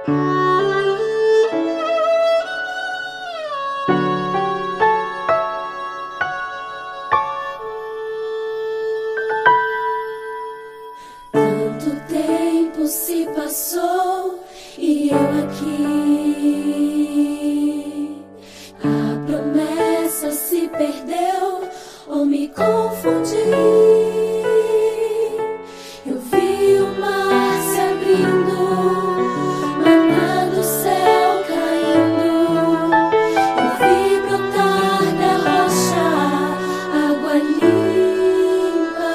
Tanto tempo se passou e eu aqui. A promessa se perdeu ou me confundi. Eu vi o mar se abrindo, maná do céu caindo. Eu vi brotar da rocha água limpa.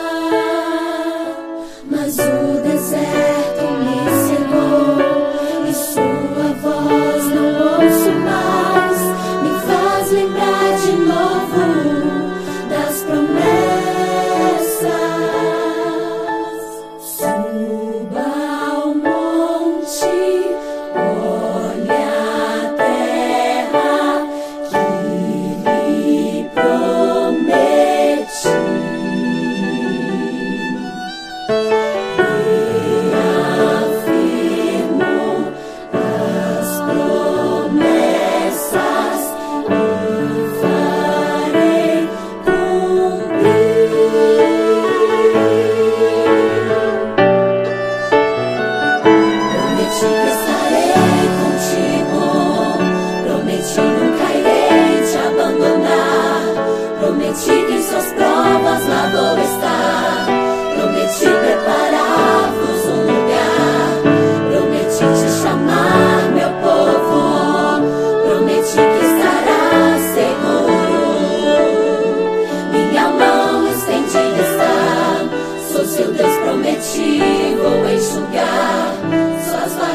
Mas o deserto me cegou e sua voz não ouço mais. Me faz lembrar de novo das promessas. Suba ao monte, olhe a terra que lhe prometi. Reafirmo as promessas e farei cumprir. Prometi que estarei contigo, prometi nunca irei te abandonar, prometi que em suas provas lá vou estar, prometi preparar-vos um lugar, prometi te chamar, meu povo, prometi que estarás seguro. Minha mão estendida está, sou seu Deus, prometi, vou enxugar suas lágrimas.